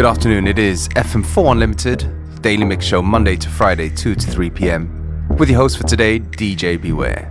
Good afternoon, it is FM4 Unlimited, Daily Mix Show, Monday to Friday, 2 to 3 p.m. With your host for today, DJ Beware.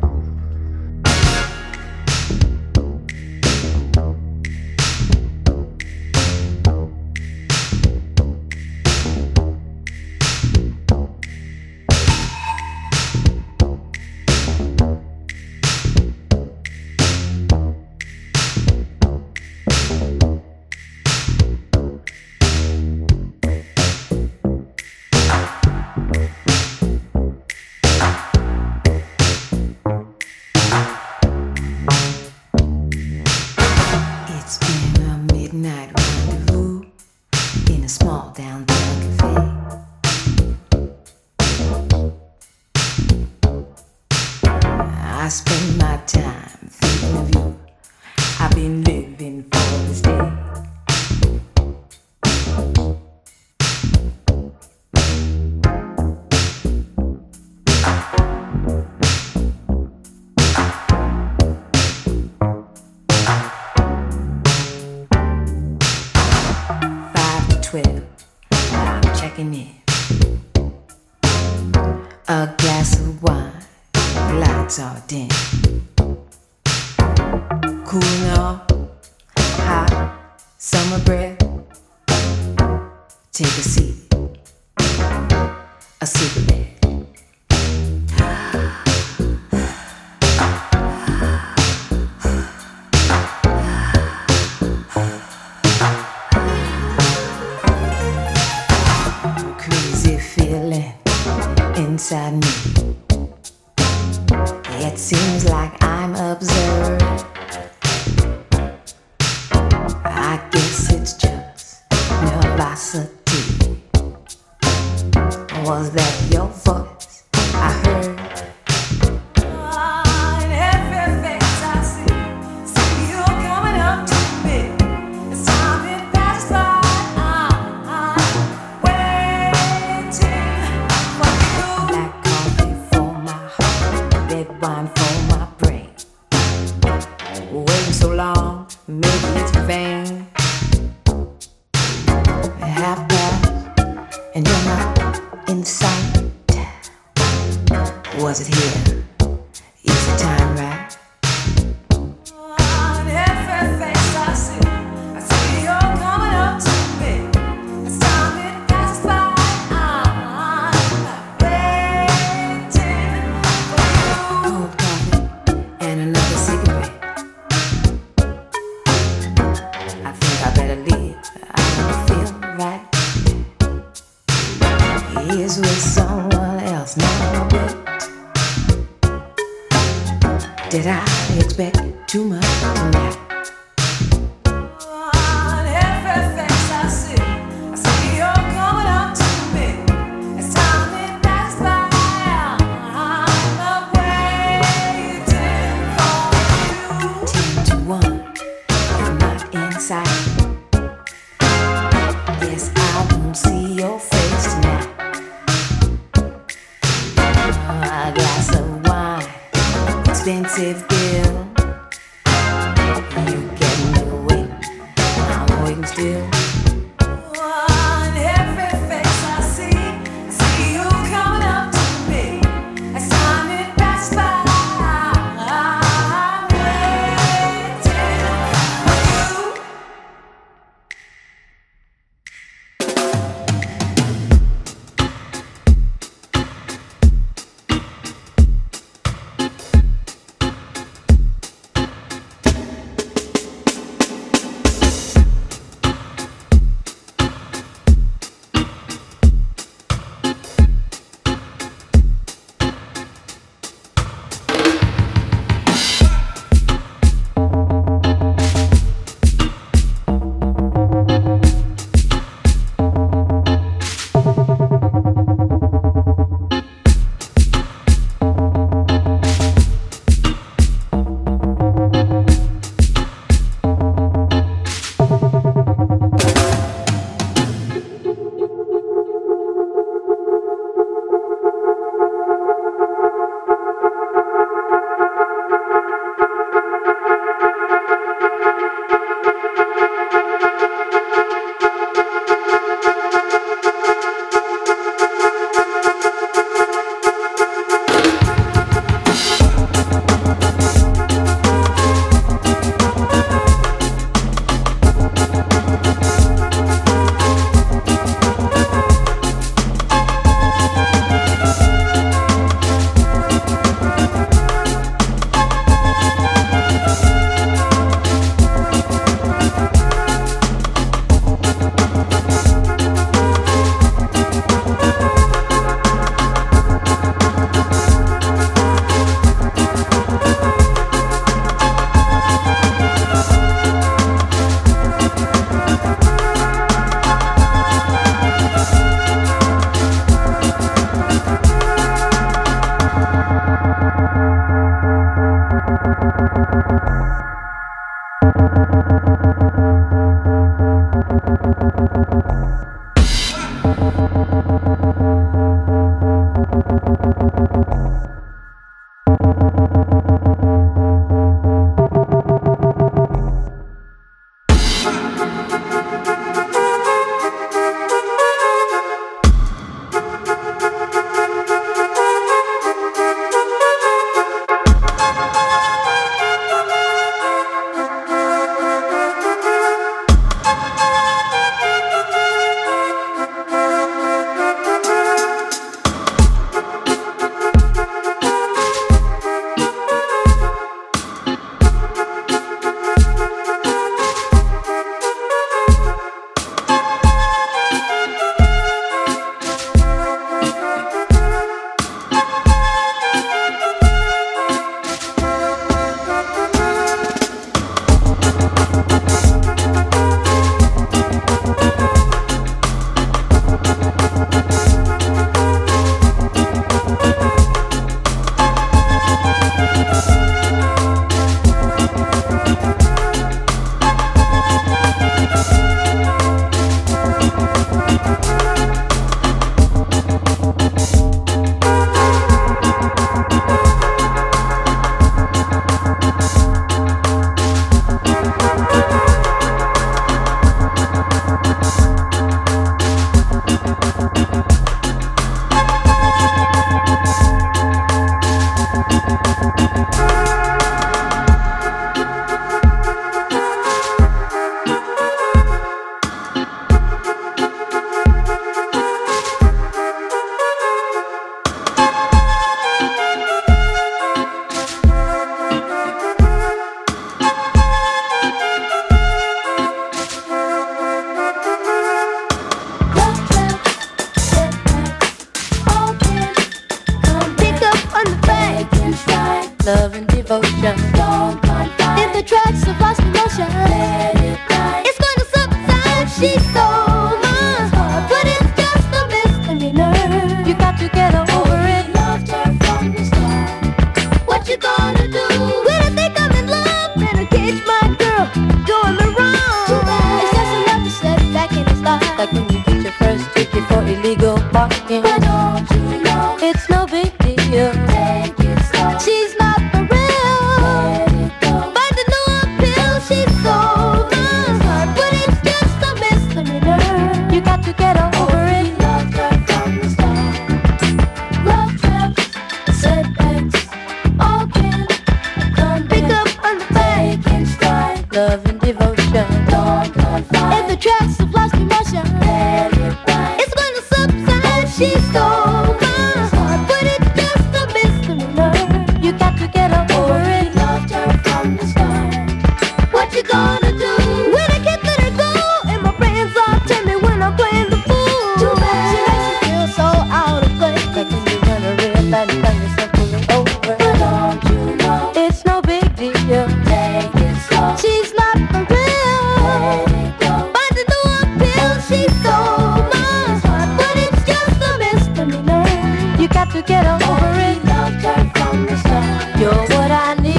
devotion. In the tracks of lost emotion, it's gonna subside. She stole my heart, but it's just a misdemeanor. You got to get over it. Loved her from the start. What you gonna do when I think I'm in love and I catch my girl doing me wrong? It's just another setback in his life, like when you get your first ticket for illegal parking. But don't you know it's no big deal? Take it slow. She's not for real. Find a new appeal. She stole my heart, but it's just a misdemeanor. You got to get over it. Loved her from the start. Love traps, setbacks, all can come. Pick up on the fake in stride. Love and devotion. Don't fight. In the tracks of lost emotion, it's gonna subside. She stole my heart, but it's just a misdemeanor. You got to get over it. Loved her from the start. What you gonna do when I can't let her go? And my friends all tell me when I'm playing the fool. Too bad. She makes me feel so out of place. Like when you run a real light and find yourself pulling over. But don't you know it's no big deal? Take it slow. She's not for real. Find a new appeal. She stole my heart, but it's just a misdemeanor. You got to get over it. Loved her from the start. You're what I need.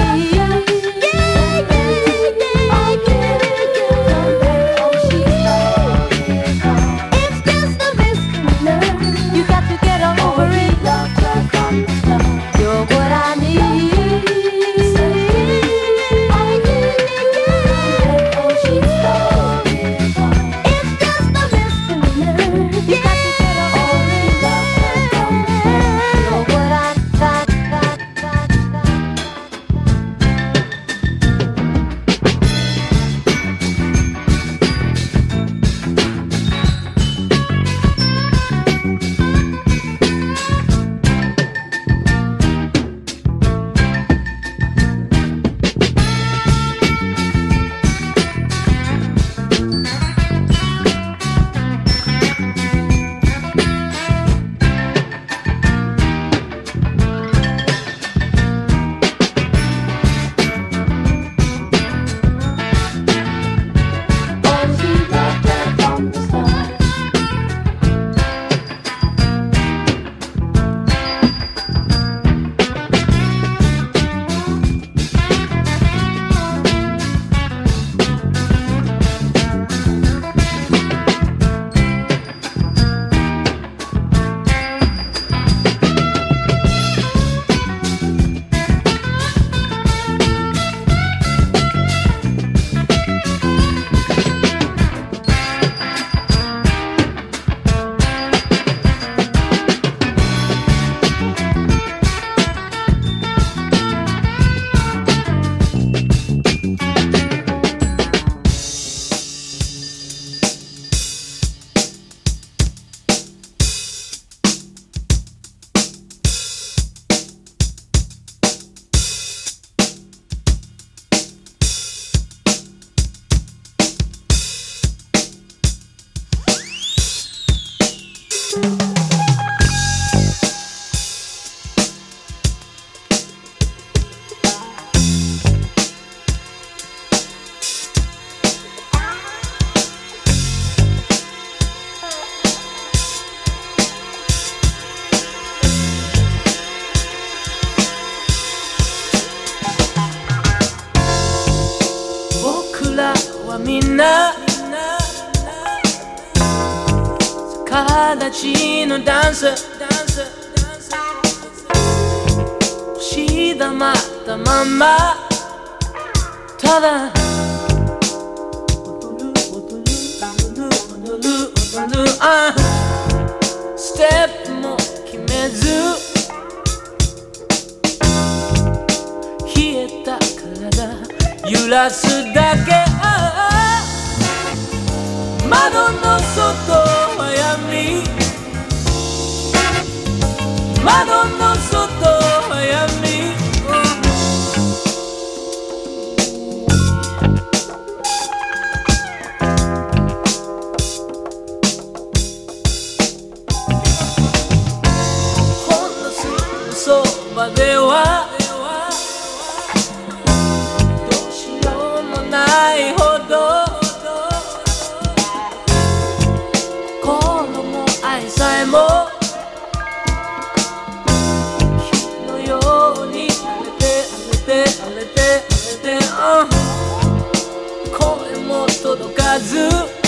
It's just a misdemeanor. You got to get over it. Loved her from the start. You're what I need. It's just a misdemeanor. You got to get over it. Loved her from the start. You're what I need. Oh, she loved her from the start. 僕らはみんな逆立ちのダンス押し黙ったままただ踊るステップも決めず冷えた体揺らすだけ窓の外は闇窓の外は闇ほんのすぐそばではらず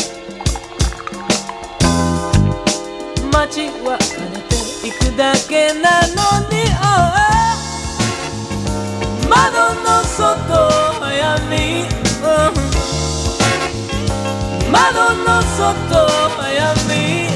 街は枯れていくだけなのに、窓の外早見、窓の外早見、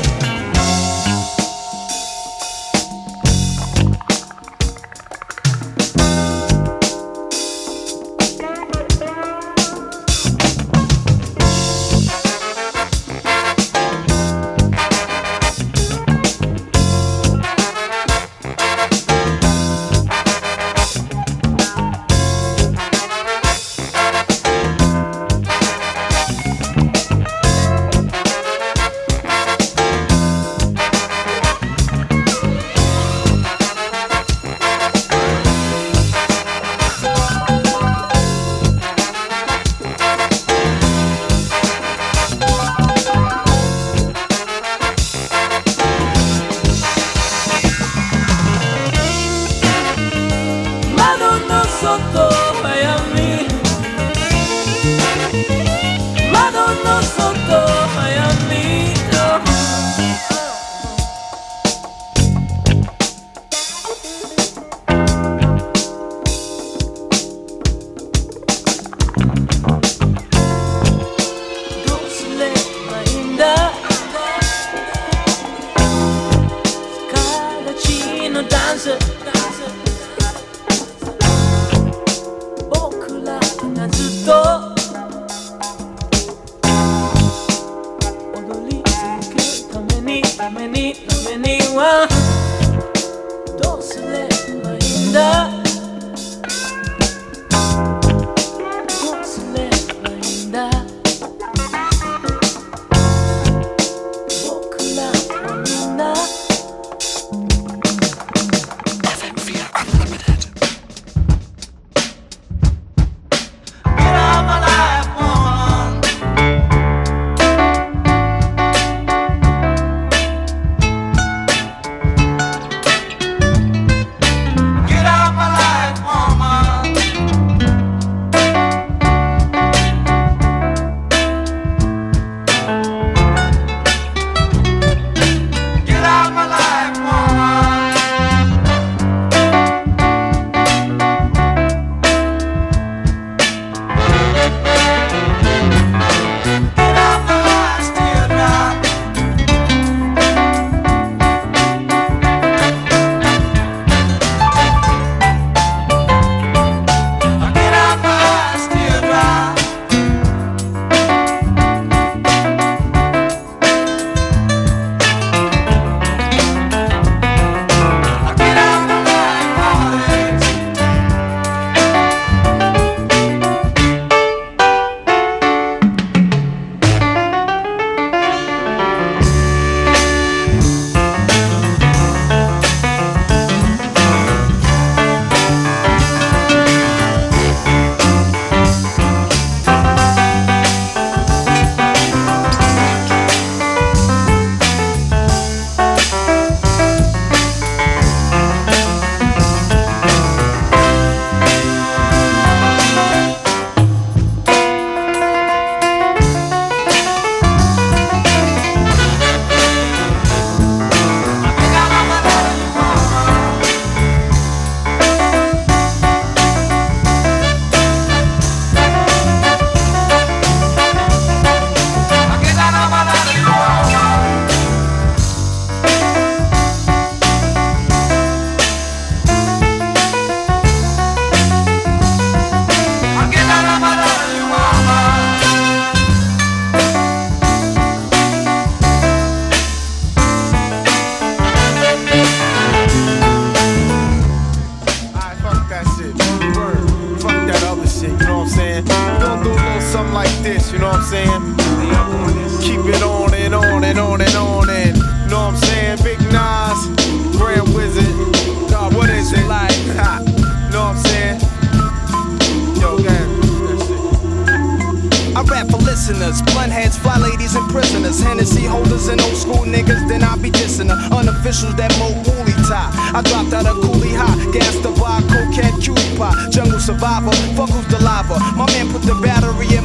listeners, blunt heads, fly ladies and prisoners, Hennessy holders and old school niggas, then I be dissing her. Unofficials that mo woolly tie. I dropped out of coolie high, gas to buy, cocaine, cutie pie, jungle survivor, fuck who's the lava. My man put the battery in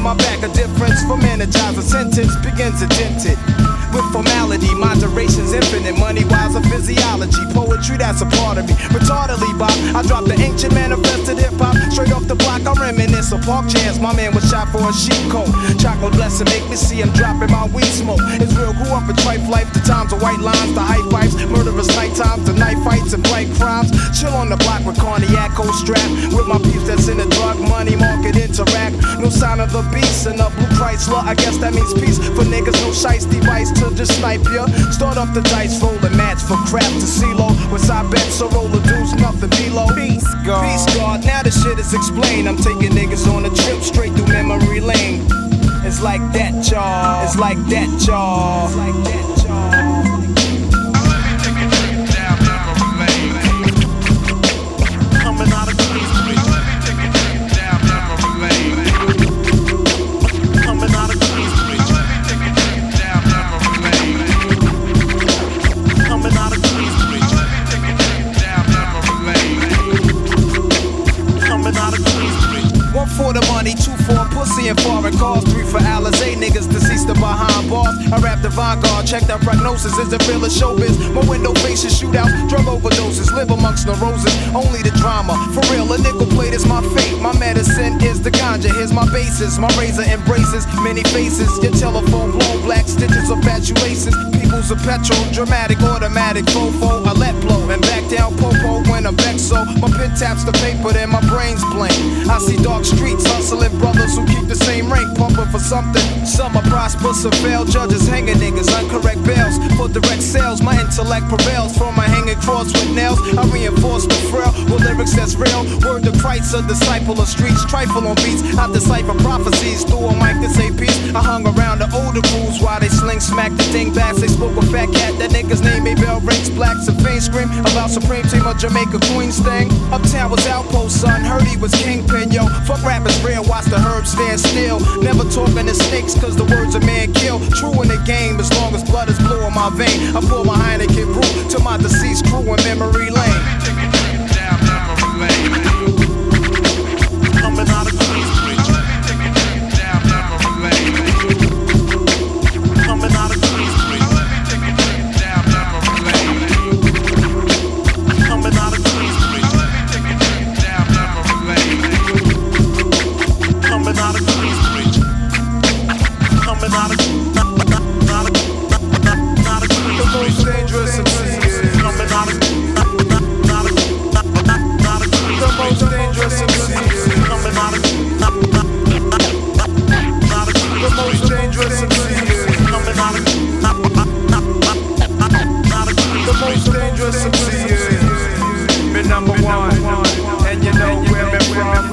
my back, a difference from energizer. Sentence begins to dent it. With formality, moderation's infinite. Money-wise, a physiology. Poetry, that's a part of me. Retardedly, Bob, I dropped the ancient manifested hip-hop. Straight off the block, I reminisce of park jams. My man was shot for a sheep coat. Chocolate blessing, make me see him dropping my weed smoke. Israel grew up in trife life. The times of white lines, the hype pipes. Murderous night times, the night fights and bright crimes. Chill on the block with cognac, cold strap. With my peeps that's in the drug money market interact. No sign of the beast in the blue Chrysler. I guess that means peace for niggas. No shice device to just snipe ya. Start up the dice, roll a match for crap to CeeLo. What's I bet, so roll the deuce, nothing below. Peace God. Peace God, now the shit is explained. I'm taking niggas on a trip straight through memory lane. It's like that, y'all. It's like that, y'all. It's like that, y'all. Coming out of Queensbridge. Coming out of Queensbridge. Coming out of Queensbridge. Coming out of Queensbridge. 1 for the money, 2 for pussy and foreign cars, 3 for Alizé niggas deceased behind bars. I rap the vanguard, check that prognosis. Is it real or showbiz? My window faces shootouts, drug overdoses, live amongst neuroses. Only the drama, for real. A nickel plate is my fate. My medicine is the ganja. Here's my basis. My razor embraces many faces. Your telephone blown, black stitches of fatuations. People's a petrol, dramatic, automatic, fofo. I let blow and back down popo when I'm vexed. So my pen taps the paper, then my brain's blank. I see dark streets, hustling brothers who keep the same rank, pumping for something. Some are prosper, some fail. Judges hanging niggas, uncorrect bails. For direct sales, my intellect prevails. From my hanging cross with nails, I reinforce the frail with lyrics that's real. Word to Christ, a disciple of streets. Trifle on beats, I decipher prophecies through a mic to say peace. I hung around the older crews while they sling smack the thing back. They spoke a fat cat, that nigga's name ain't bell rings. Blacks and fame scream about Supreme Team of Jamaica Queens thing. Uptown was outpost, son. Heard he was kingpin, yo. Fuck rappers real, watch the herbs stand still. Never talking to snakes, cause the words a man kill. True in the game, as long as blood is blue in my vein. I pour my Heineken brew to my deceased crew in memory lane. Coming out of Queensbridge. Coming out of Queensbridge. Coming out of Queensbridge. Coming out of Queensbridge. Coming out of the most dangerous MC. Coming out of the most dangerous MC. Coming out of the most dangerous MC. Coming out of the most dangerous MC. Been number 1, and you know where me from.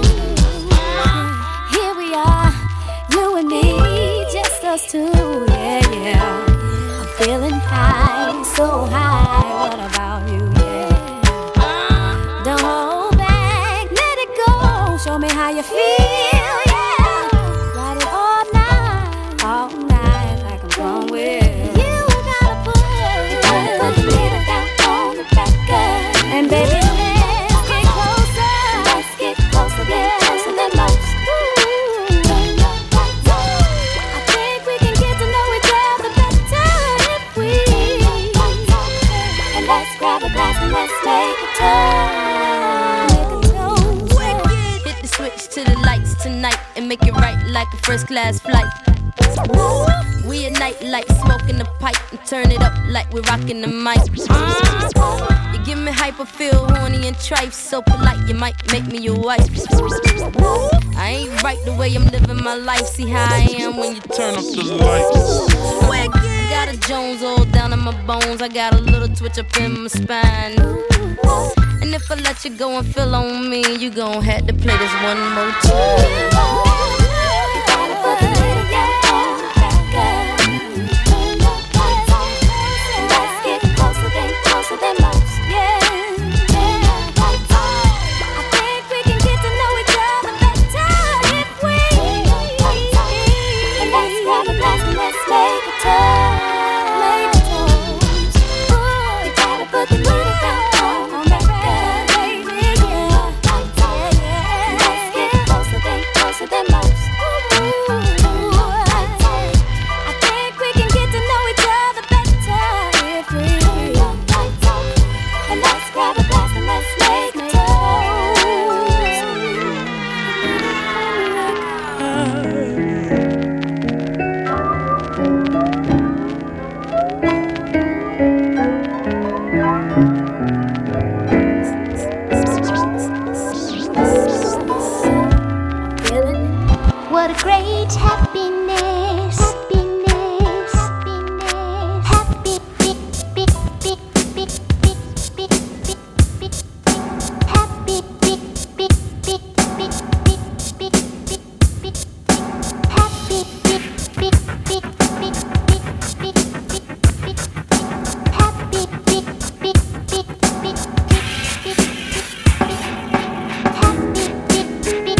Here we are, you and me, just us two, yeah. Show me how you feel, yeah. Ride it all night, like I'm going with. You gotta put the needle down on the record. And baby, let's get closer. Let's get closer than most. I think we can get to know each other better if we. And let's grab a glass and let's make a toast. Switch to the lights tonight and make it right like a first class flight. We ignite like smoke in the pipe and turn it up like we're rocking the mic. You give me hype, I feel horny and trife. So polite, you might make me your wife. I ain't right the way I'm living my life. See how I am when you turn up the lights. Got a Jones all down in my bones. I got a little twitch up in my spine. And if I let you go and feel on me, you gon' have to play this one more time. Let's get closer than most. Yeah. I think we can get to know each other better if we. And let's grab a glass and let's make a toast. You gotta put the needle down. Closer than most. I think we can get to know each other better if we. And let's grab a glass and let's make a What a great happiness, happiness, happiness, happy, beep, beep, beep, beep, beep, beep, beep, beep, happy, beep, beep, beep, beep, beep, beep, beep, beep, happy, beep, beep, beep, beep, beep, beep, beep, beep, happy, beep, beep, beep, beep, beep, beep, happy, beep, beep, beep.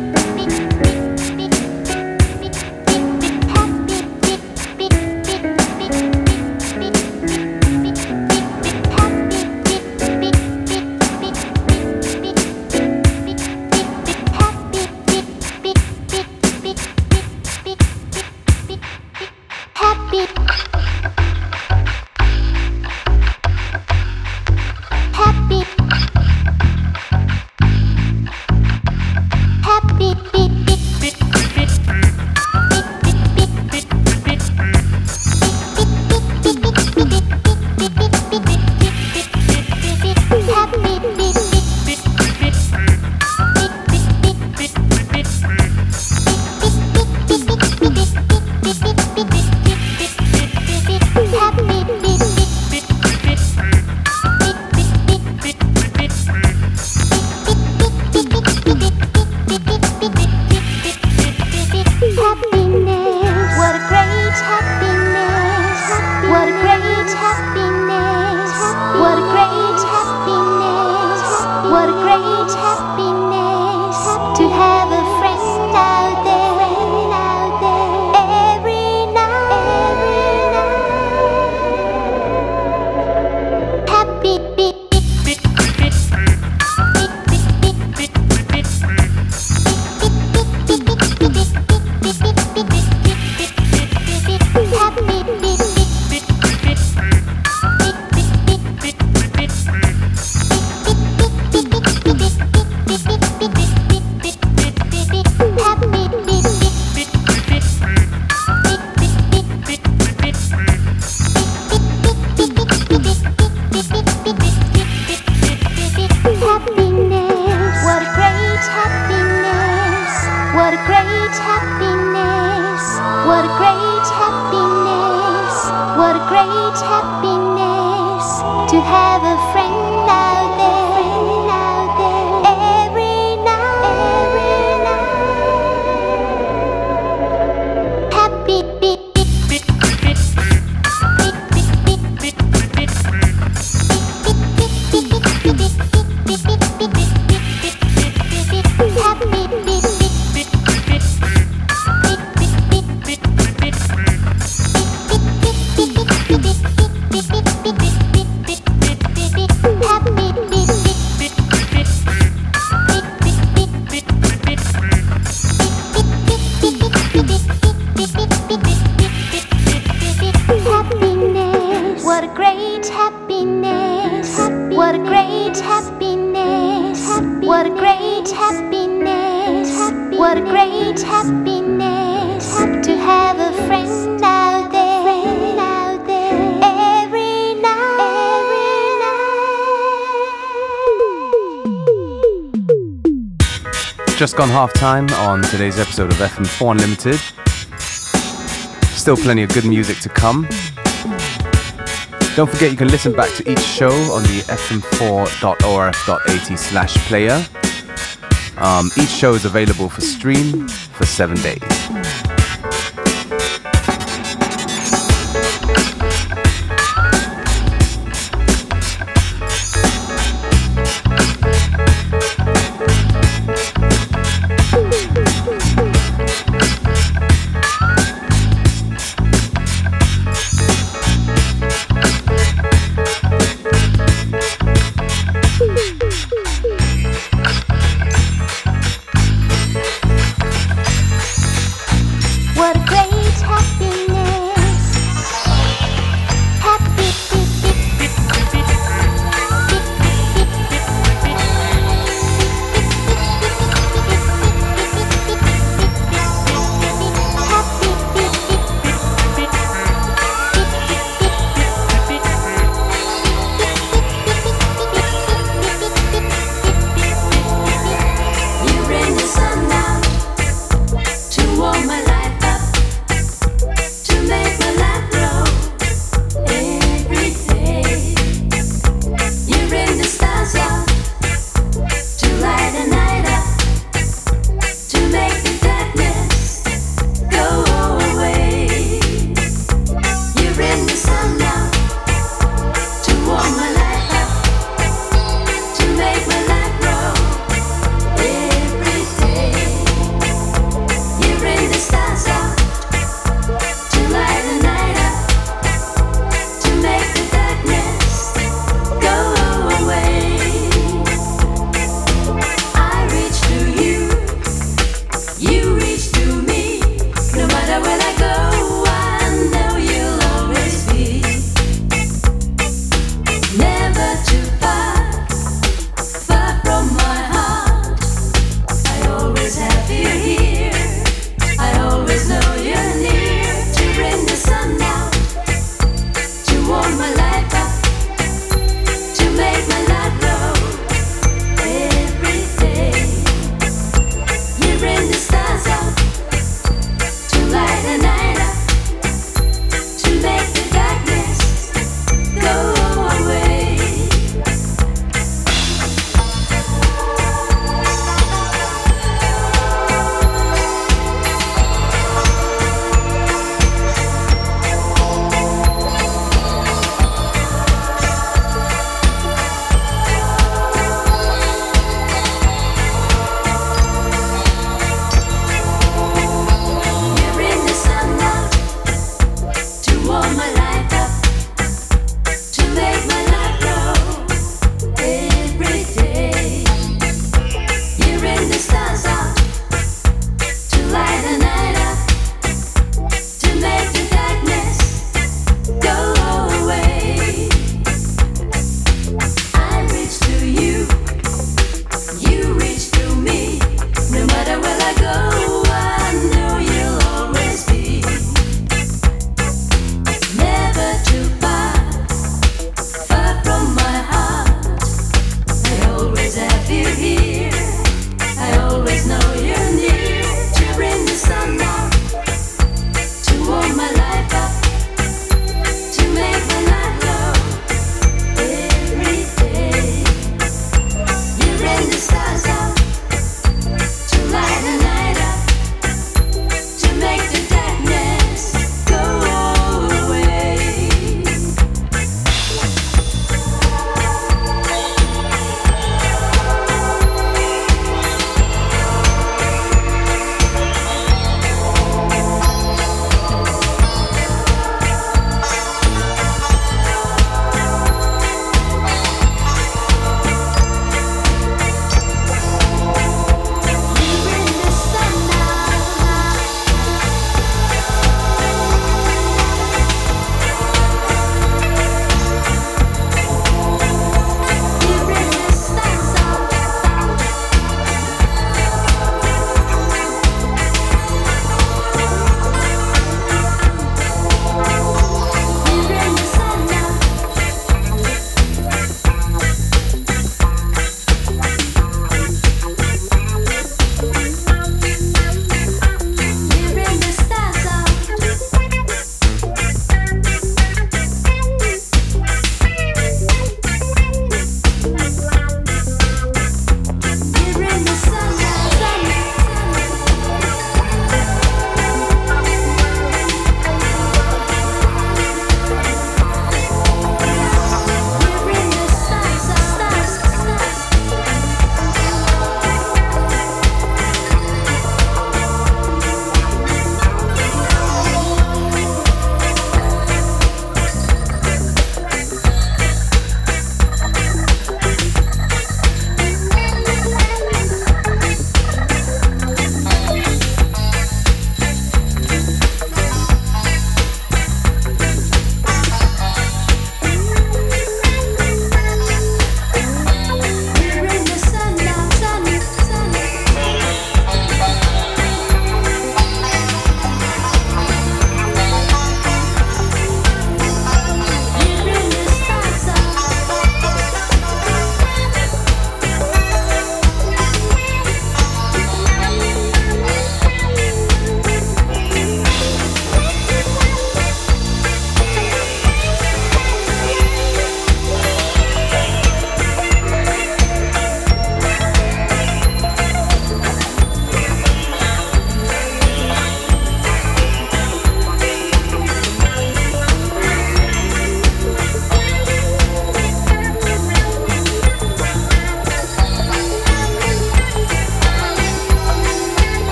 To have a friend out there, every night, happy beat, happy. What a great happiness, what a great happiness to have a friend out there every night. Just gone half time on today's episode of FM4 Unlimited. Still plenty of good music to come. Don't forget you can listen back to each show on the fm4.orf.at/player. Each show is available for stream for 7 days. I always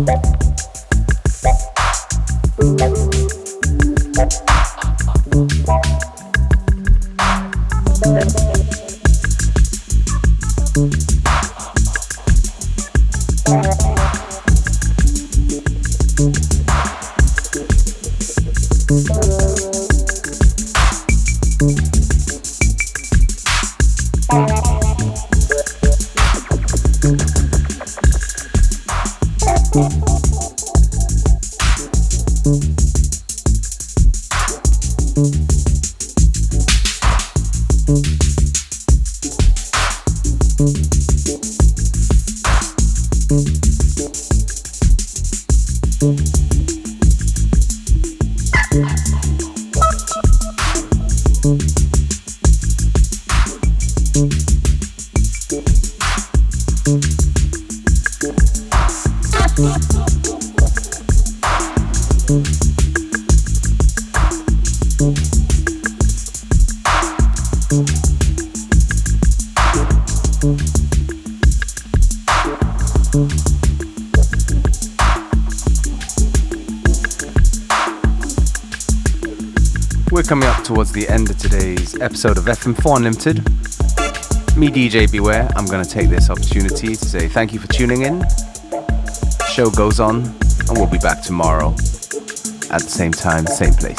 We're coming up towards the end of today's episode of FM4 Unlimited. Me, DJ Beware, I'm going to take this opportunity to say thank you for tuning in. The show goes on, and we'll be back tomorrow at the same time, same place.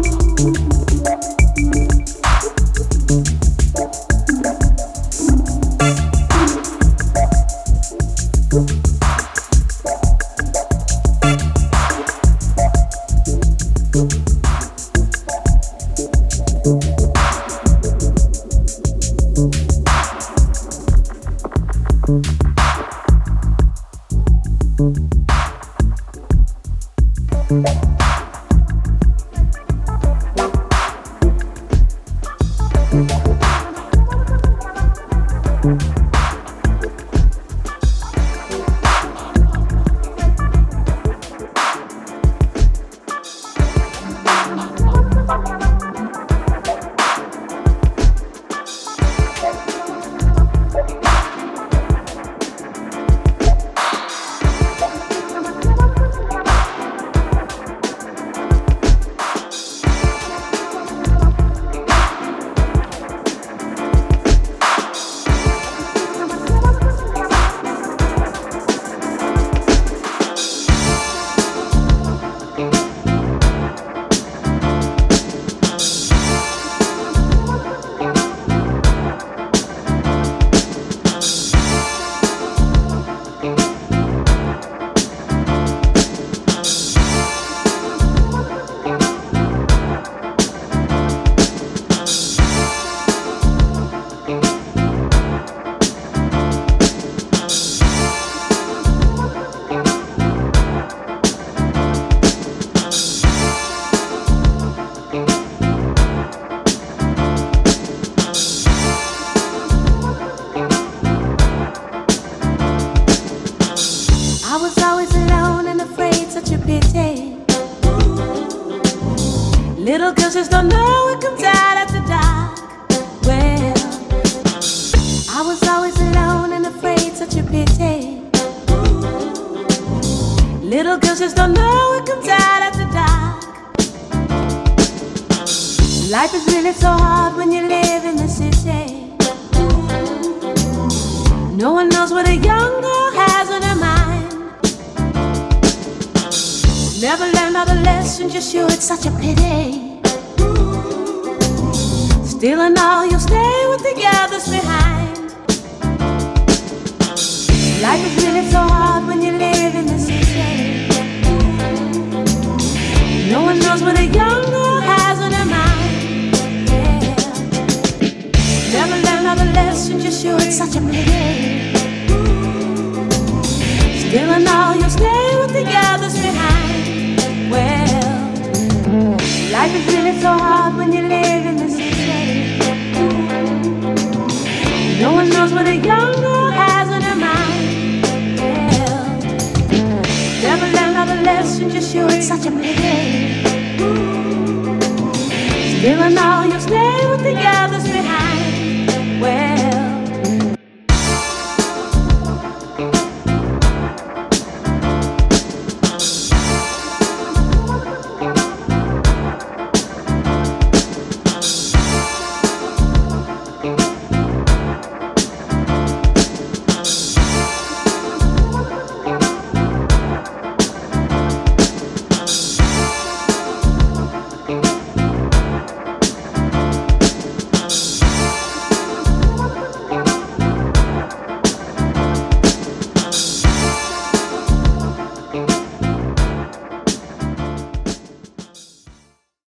Little girls just don't know it comes out after dark. Well, I was always alone and afraid, such a pity. Little girls just don't know it comes out after dark. Life is really so hard when you live in the city. No one knows what a young girl has on her mind. Never learned all the lessons you should, such a pity. Still and all, you'll stay with the others behind. Life is really so hard when you live in the city. No one knows what a young girl has on her mind. Yeah. Never learned all the lessons you should, such a pity. Still and all, you'll stay with the others behind. Well, life is really so hard when you live in the city. No one knows what a young girl has on her mind. Well, never learned all the lessons you should, such a pity.